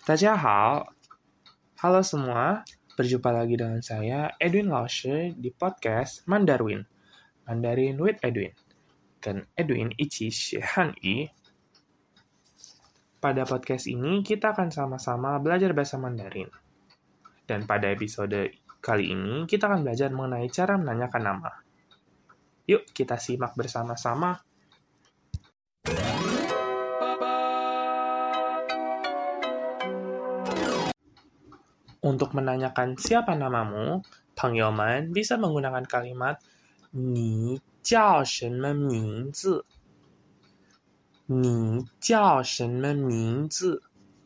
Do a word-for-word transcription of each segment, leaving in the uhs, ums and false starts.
大家好, halo semua, berjumpa lagi dengan saya Edwin Laoshi di podcast Mandarin, Mandarin with Edwin. 跟 Edwin 一起学汉语. Pada podcast ini kita akan sama-sama belajar bahasa Mandarin. Dan pada episode kali ini kita akan belajar mengenai cara menanyakan nama. Yuk kita simak bersama-sama. Untuk menanyakan siapa namamu, 朋友们 bisa menggunakan kalimat 你叫什么名字? 你叫什么名字?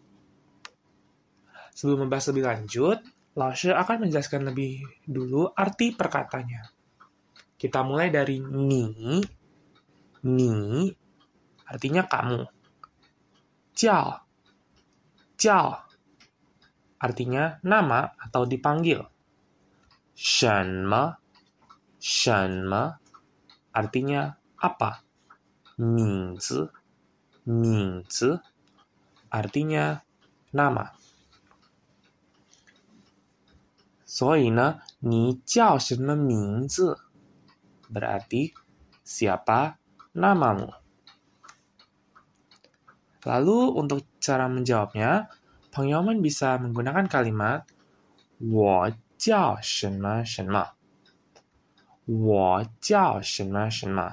Sebelum membahas lebih lanjut, Laoshi akan menjelaskan lebih dulu arti perkataannya. Kita mulai dari ni, ni, artinya kamu. Jiao, jiao, artinya nama atau dipanggil. Shenme, shenme, artinya apa. Mingzi, mingzi, artinya nama. 所以呢, 你叫什么名字? Berarti, siapa namamu? Lalu, untuk cara menjawabnya, 朋友们 bisa menggunakan kalimat 我叫什么什么. 我叫什么什么.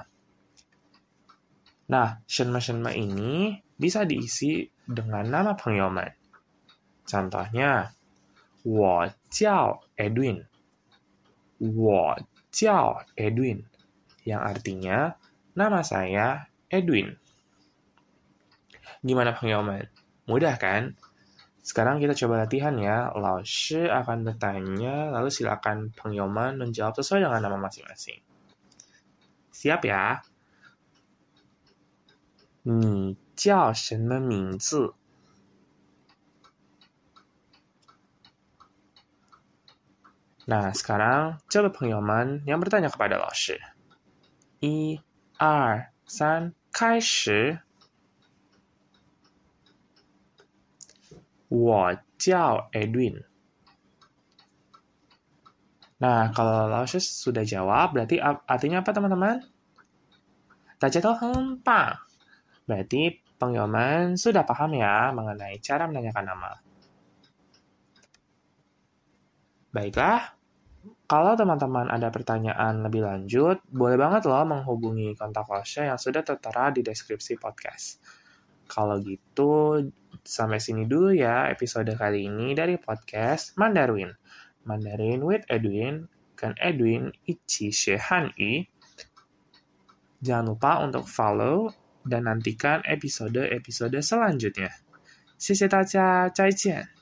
Nah, 什么什么 ini bisa diisi dengan nama 朋友们. Contohnya, 我叫 Edwin. 我叫 Edwin. Yang artinya, nama saya Edwin. Gimana 朋友们? Mudah kan? Sekarang kita coba latihan ya. Laoshi akan bertanya, lalu silakan 朋友们 menjawab sesuai dengan nama masing-masing. Siap ya? 你叫什么名字? Nah, sekarang coba 朋友们 yang bertanya kepada Laoshi. 一、二、三、开始. 我叫 Edwin. Nah, kalau Laoshi sudah jawab, berarti artinya apa teman-teman? 大家都很棒. Berarti 朋友们 sudah paham ya mengenai cara menanyakan nama. Baiklah, kalau teman-teman ada pertanyaan lebih lanjut, boleh banget loh menghubungi kontak Laoshi yang sudah tertera di deskripsi podcast. Kalau gitu, sampai sini dulu ya episode kali ini dari podcast Mandarin. Mandarin with Edwin, kan Edwin 一起学汉语. Jangan lupa untuk follow dan nantikan episode-episode selanjutnya. 谢谢大家，再见。